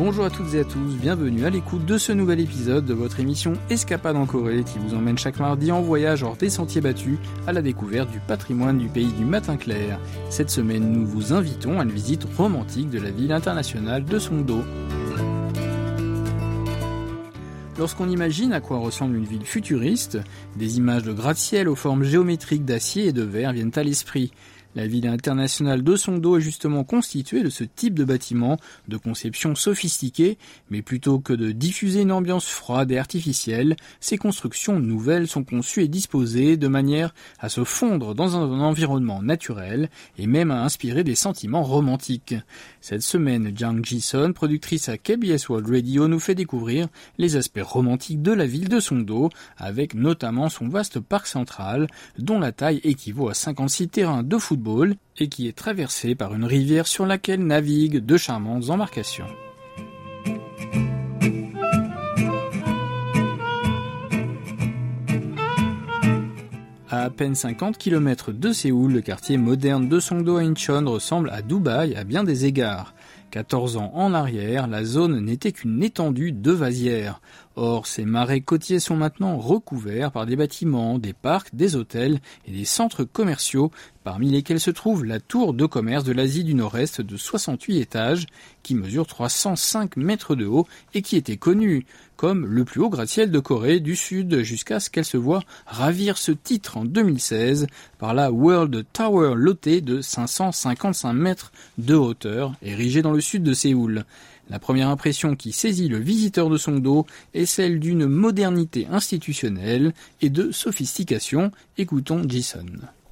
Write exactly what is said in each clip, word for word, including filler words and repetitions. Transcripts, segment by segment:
Bonjour à toutes et à tous, bienvenue à l'écoute de ce nouvel épisode de votre émission Escapade en Corée qui vous emmène chaque mardi en voyage hors des sentiers battus à la découverte du patrimoine du pays du matin clair. Cette semaine, nous vous invitons à une visite romantique de la ville internationale de Songdo. Lorsqu'on imagine à quoi ressemble une ville futuriste, des images de gratte-ciel aux formes géométriques d'acier et de verre viennent à l'esprit. La ville internationale de Songdo est justement constituée de ce type de bâtiment de conception sophistiquée, mais plutôt que de diffuser une ambiance froide et artificielle, ces constructions nouvelles sont conçues et disposées de manière à se fondre dans un environnement naturel et même à inspirer des sentiments romantiques. Cette semaine, Jang Ji-sun, productrice à K B S World Radio, nous fait découvrir les aspects romantiques de la ville de Songdo, avec notamment son vaste parc central, dont la taille équivaut à cinquante-six terrains de football et qui est traversé par une rivière sur laquelle naviguent de charmantes embarcations. À à peine cinquante kilomètres de Séoul, le quartier moderne de Songdo Incheon ressemble à Dubaï à bien des égards. quatorze ans en arrière, la zone n'était qu'une étendue de vasières. Or, ces marais côtiers sont maintenant recouverts par des bâtiments, des parcs, des hôtels et des centres commerciaux, parmi lesquels se trouve la tour de commerce de l'Asie du Nord-Est de soixante-huit étages, qui mesure trois cent cinq mètres de haut et qui était connue comme le plus haut gratte-ciel de Corée du Sud, jusqu'à ce qu'elle se voie ravir ce titre en deux mille seize par la World Tower Lotte de cinq cent cinquante-cinq mètres de hauteur, érigée dans le sud de Séoul. La première impression qui saisit le visiteur de Songdo est celle d'une modernité institutionnelle et de sophistication. Écoutons Ji-sun.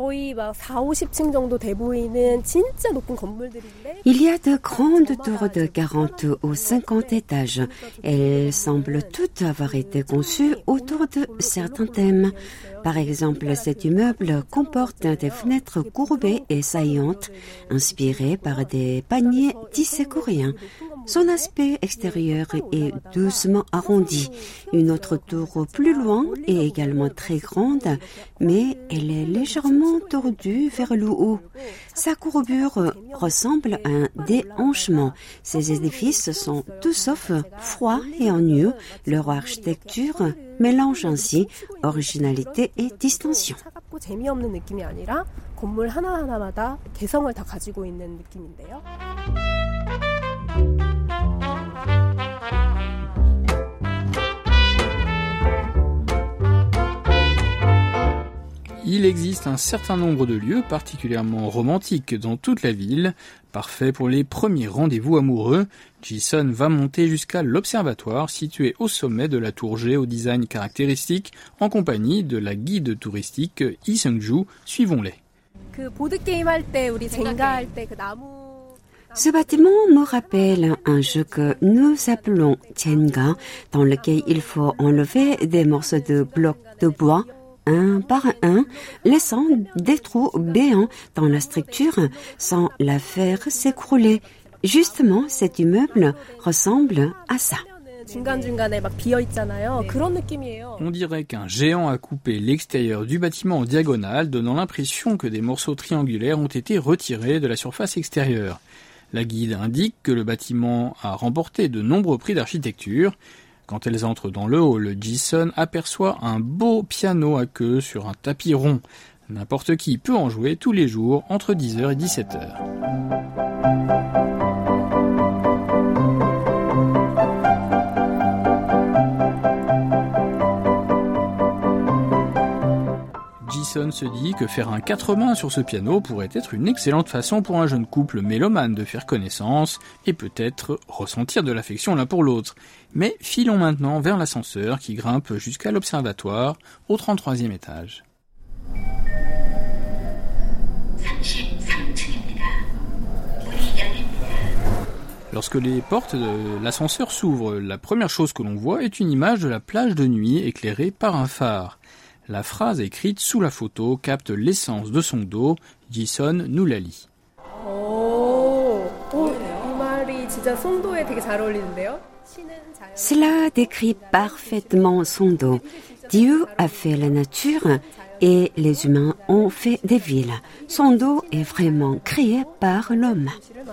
Il y a de grandes tours de quarante ou cinquante étages. Elles semblent toutes avoir été conçues autour de certains thèmes. Par exemple, cet immeuble comporte des fenêtres courbées et saillantes, inspirées par des paniers tissés coréens. Son aspect extérieur est doucement arrondi. Une autre tour plus loin est également très grande, mais elle est légèrement tordue vers le haut. Sa courbure ressemble à un déhanchement. Ces édifices sont tout sauf froids et ennuyeux. Leur architecture mélange ainsi originalité et distinction. Il existe un certain nombre de lieux particulièrement romantiques dans toute la ville, parfaits pour les premiers rendez-vous amoureux. Ji-sun va monter jusqu'à l'observatoire situé au sommet de la tour G au design caractéristique en compagnie de la guide touristique Lee Seung-ju. Suivons-les. Ce bâtiment me rappelle un jeu que nous appelons Jenga, dans lequel il faut enlever des morceaux de blocs de bois un par un, laissant des trous béants dans la structure sans la faire s'écrouler. Justement, cet immeuble ressemble à ça. On dirait qu'un géant a coupé l'extérieur du bâtiment en diagonale, donnant l'impression que des morceaux triangulaires ont été retirés de la surface extérieure. La guide indique que le bâtiment a remporté de nombreux prix d'architecture. Quand elles entrent dans le hall, Ji-sun aperçoit un beau piano à queue sur un tapis rond. N'importe qui peut en jouer tous les jours entre dix heures et dix-sept heures. Ji-sun se dit que faire un quatre mains sur ce piano pourrait être une excellente façon pour un jeune couple mélomane de faire connaissance et peut-être ressentir de l'affection l'un pour l'autre. Mais filons maintenant vers l'ascenseur qui grimpe jusqu'à l'observatoire au trente-troisième étage. Lorsque les portes de l'ascenseur s'ouvrent, la première chose que l'on voit est une image de la plage de nuit éclairée par un phare. La phrase écrite sous la photo capte l'essence de Songdo. Ji-sun nous la lit. Cela décrit parfaitement Songdo. Dieu a fait la nature et les humains ont fait des villes. Songdo est vraiment créé par l'homme.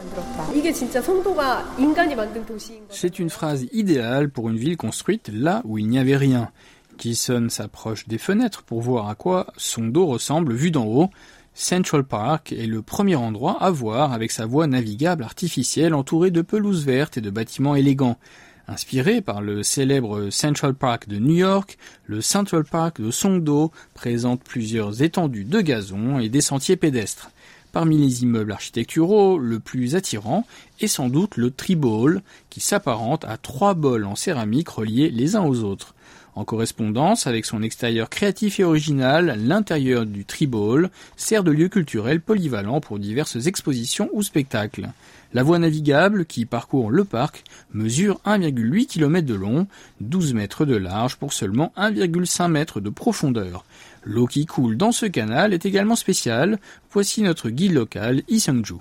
C'est une phrase idéale pour une ville construite là où il n'y avait rien. Jason s'approche des fenêtres pour voir à quoi Songdo ressemble vu d'en haut. Central Park est le premier endroit à voir avec sa voie navigable artificielle entourée de pelouses vertes et de bâtiments élégants. Inspiré par le célèbre Central Park de New York, le Central Park de Songdo présente plusieurs étendues de gazon et des sentiers pédestres. Parmi les immeubles architecturaux, le plus attirant est sans doute le Tree Bowl, qui s'apparente à trois bols en céramique reliés les uns aux autres. En correspondance avec son extérieur créatif et original, l'intérieur du Tree Bowl sert de lieu culturel polyvalent pour diverses expositions ou spectacles. La voie navigable qui parcourt le parc mesure un virgule huit kilomètres de long, douze mètres de large pour seulement un virgule cinq mètres de profondeur. L'eau qui coule dans ce canal est également spéciale. Voici notre guide local, Lee Seung-ju.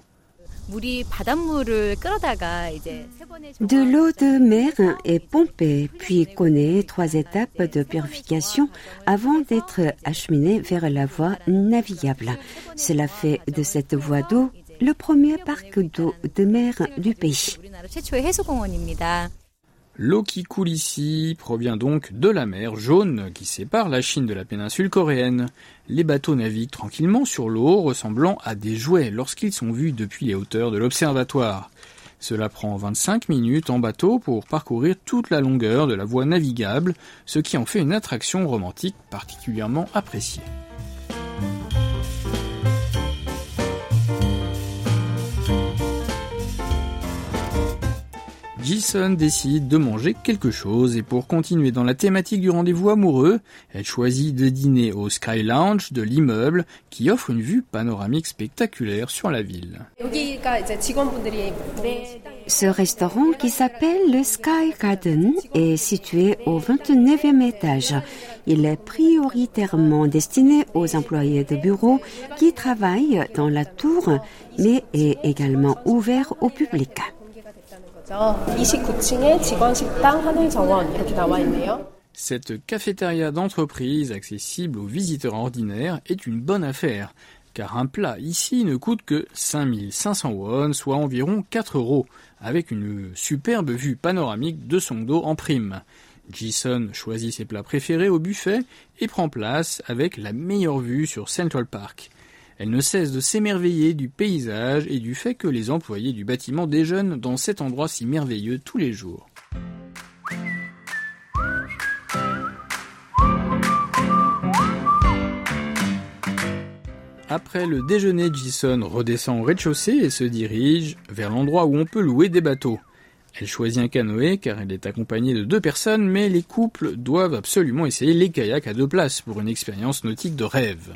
De l'eau de mer est pompée, puis connaît trois étapes de purification avant d'être acheminée vers la voie navigable. Cela fait de cette voie d'eau le premier parc d'eau de mer du pays. L'eau qui coule ici provient donc de la mer Jaune qui sépare la Chine de la péninsule coréenne. Les bateaux naviguent tranquillement sur l'eau, ressemblant à des jouets lorsqu'ils sont vus depuis les hauteurs de l'observatoire. Cela prend vingt-cinq minutes en bateau pour parcourir toute la longueur de la voie navigable, ce qui en fait une attraction romantique particulièrement appréciée. Jason décide de manger quelque chose et pour continuer dans la thématique du rendez-vous amoureux, elle choisit de dîner au Sky Lounge de l'immeuble qui offre une vue panoramique spectaculaire sur la ville. Ce restaurant qui s'appelle le Sky Garden est situé au vingt-neuvième étage. Il est prioritairement destiné aux employés de bureau qui travaillent dans la tour, mais est également ouvert au public. Cette cafétéria d'entreprise accessible aux visiteurs ordinaires est une bonne affaire, car un plat ici ne coûte que cinq mille cinq cents won, soit environ quatre euros, avec une superbe vue panoramique de Songdo en prime. Jason choisit ses plats préférés au buffet et prend place avec la meilleure vue sur Central Park. Elle ne cesse de s'émerveiller du paysage et du fait que les employés du bâtiment déjeunent dans cet endroit si merveilleux tous les jours. Après le déjeuner, Jason redescend au rez-de-chaussée et se dirige vers l'endroit où on peut louer des bateaux. Elle choisit un canoë car elle est accompagnée de deux personnes, mais les couples doivent absolument essayer les kayaks à deux places pour une expérience nautique de rêve.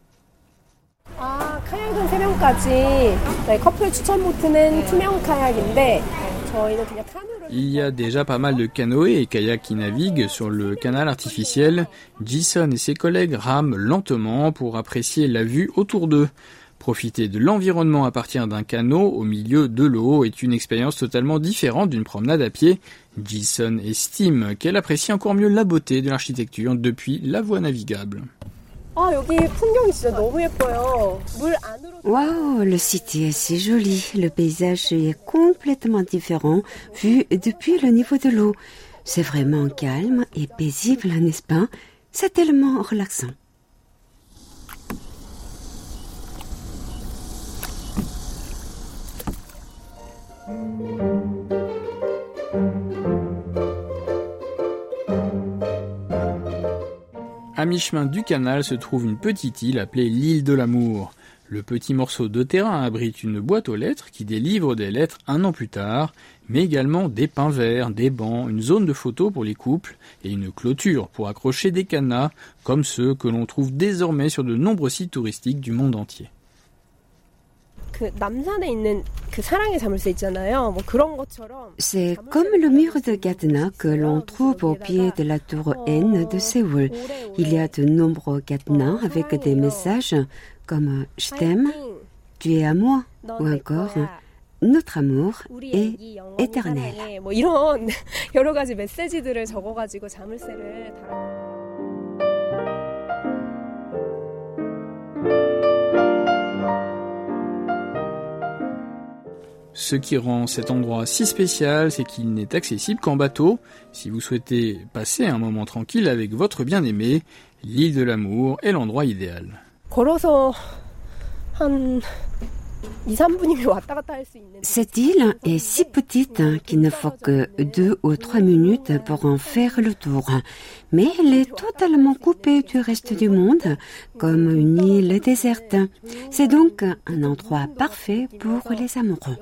아, 카약은 세 명까지. 네, 커플 추천 보트는 투명 카약인데 저희는 그냥 카누를. Il y a déjà pas mal de canoës et kayaks qui naviguent sur le canal artificiel. Jason et ses collègues rament lentement pour apprécier la vue autour d'eux. Profiter de l'environnement à partir d'un canot au milieu de l'eau est une expérience totalement différente d'une promenade à pied. Jason estime qu'elle apprécie encore mieux la beauté de l'architecture depuis la voie navigable. 아, 여기 풍경이 진짜 너무 예뻐요. 물 안으로. Waouh, le site est si joli. Le paysage est complètement différent vu depuis le niveau de l'eau. C'est vraiment calme et paisible, n'est-ce pas? C'est tellement relaxant. À mi-chemin du canal se trouve une petite île appelée l'île de l'amour. Le petit morceau de terrain abrite une boîte aux lettres qui délivre des lettres un an plus tard, mais également des pins verts, des bancs, une zone de photos pour les couples et une clôture pour accrocher des cadenas, comme ceux que l'on trouve désormais sur de nombreux sites touristiques du monde entier. C'est comme le mur de cadenas que l'on trouve au pied de la tour N de Séoul. Il y a de nombreux cadenas avec des messages comme « Je t'aime »,« Tu es à moi » ou encore « Notre amour est éternel ». 뭐 이런 여러 가지 메시지들을 적어가지고 자물쇠를 달아. Ce qui rend cet endroit si spécial, c'est qu'il n'est accessible qu'en bateau. Si vous souhaitez passer un moment tranquille avec votre bien-aimé, l'île de l'amour est l'endroit idéal. Cette île est si petite qu'il ne faut que deux ou trois minutes pour en faire le tour. Mais elle est totalement coupée du reste du monde, comme une île déserte. C'est donc un endroit parfait pour les amoureux.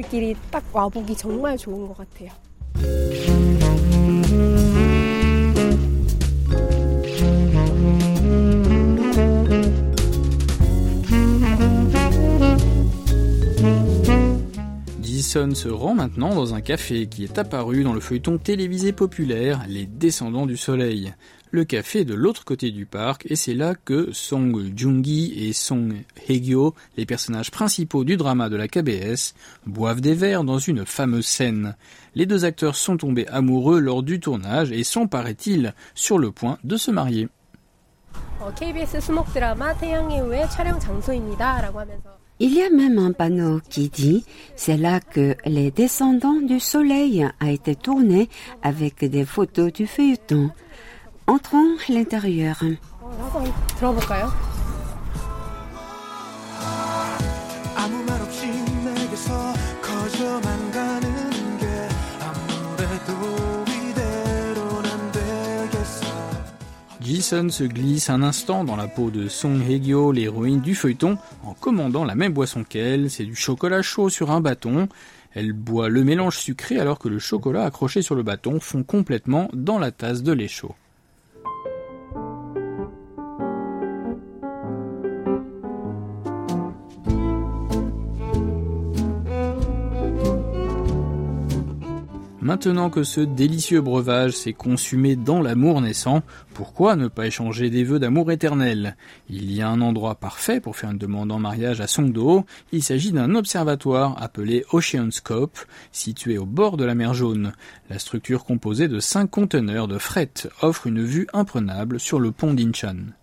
Ji-sun se rend maintenant dans un café qui est apparu dans le feuilleton télévisé populaire Les Descendants du Soleil. Le café est de l'autre côté du parc et c'est là que Song Joong-gi et Song Hye-kyo, les personnages principaux du drama de la K B S, boivent des verres dans une fameuse scène. Les deux acteurs sont tombés amoureux lors du tournage et sont, paraît-il, sur le point de se marier. Il y a même un panneau qui dit « C'est là que Les Descendants du Soleil a été tourné avec des photos du feuilleton. » Entrons à l'intérieur. Ji-sun se glisse un instant dans la peau de Song Hye-kyo, l'héroïne du feuilleton, en commandant la même boisson qu'elle, c'est du chocolat chaud sur un bâton. Elle boit le mélange sucré alors que le chocolat accroché sur le bâton fond complètement dans la tasse de lait chaud. Maintenant que ce délicieux breuvage s'est consumé dans l'amour naissant, pourquoi ne pas échanger des vœux d'amour éternel ? Il y a un endroit parfait pour faire une demande en mariage à Songdo. Il s'agit d'un observatoire appelé Oceanscope, situé au bord de la mer Jaune. La structure composée de cinq conteneurs de fret offre une vue imprenable sur le pont d'Incheon.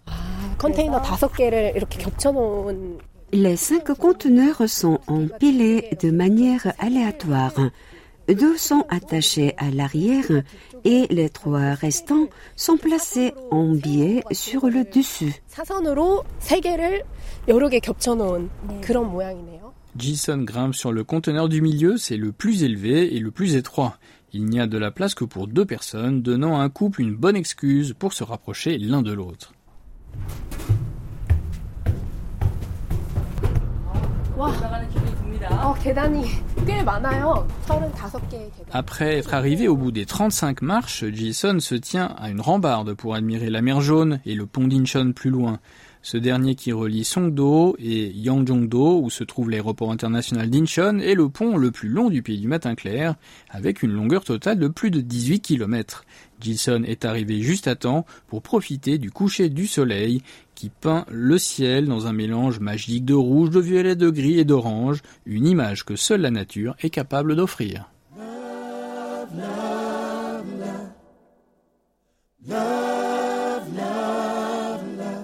Les cinq conteneurs sont empilés de manière aléatoire. Deux sont attachés à l'arrière et les trois restants sont placés en biais sur le dessus. Ji-sun grimpe sur le conteneur du milieu, c'est le plus élevé et le plus étroit. Il n'y a de la place que pour deux personnes, donnant à un couple une bonne excuse pour se rapprocher l'un de l'autre. Wow. Après être arrivé au bout des trente-cinq marches, Ji-sun se tient à une rambarde pour admirer la mer Jaune et le pont d'Incheon plus loin. Ce dernier qui relie Songdo et Yangjong-do, où se trouve l'aéroport international d'Incheon, est le pont le plus long du pays du matin clair, avec une longueur totale de plus de dix-huit kilomètres. Ji-sun est arrivé juste à temps pour profiter du coucher du soleil qui peint le ciel dans un mélange magique de rouge, de violet, de gris et d'orange, une image que seule la nature est capable d'offrir. Love, love, love. Love, love,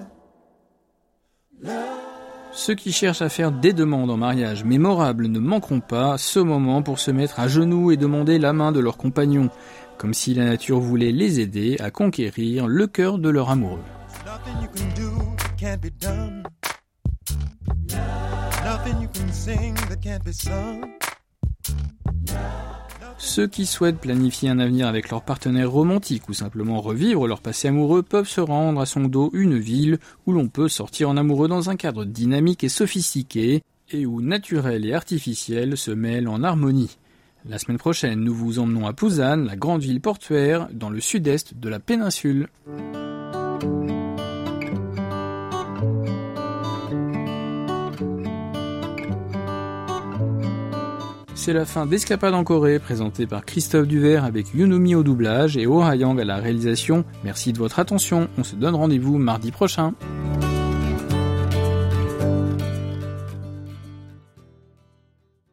love. Ceux qui cherchent à faire des demandes en mariage mémorables ne manqueront pas ce moment pour se mettre à genoux et demander la main de leur compagnon, comme si la nature voulait les aider à conquérir le cœur de leur amoureux. Ceux qui souhaitent planifier un avenir avec leur partenaire romantique ou simplement revivre leur passé amoureux peuvent se rendre à Songdo, une ville où l'on peut sortir en amoureux dans un cadre dynamique et sophistiqué et où naturel et artificiel se mêlent en harmonie. La semaine prochaine, nous vous emmenons à Busan, la grande ville portuaire dans le sud-est de la péninsule. C'est la fin d'Escapade en Corée, présentée par Christophe Duvert avec Yunomi au doublage et Oh Ha-yang à la réalisation. Merci de votre attention, on se donne rendez-vous mardi prochain.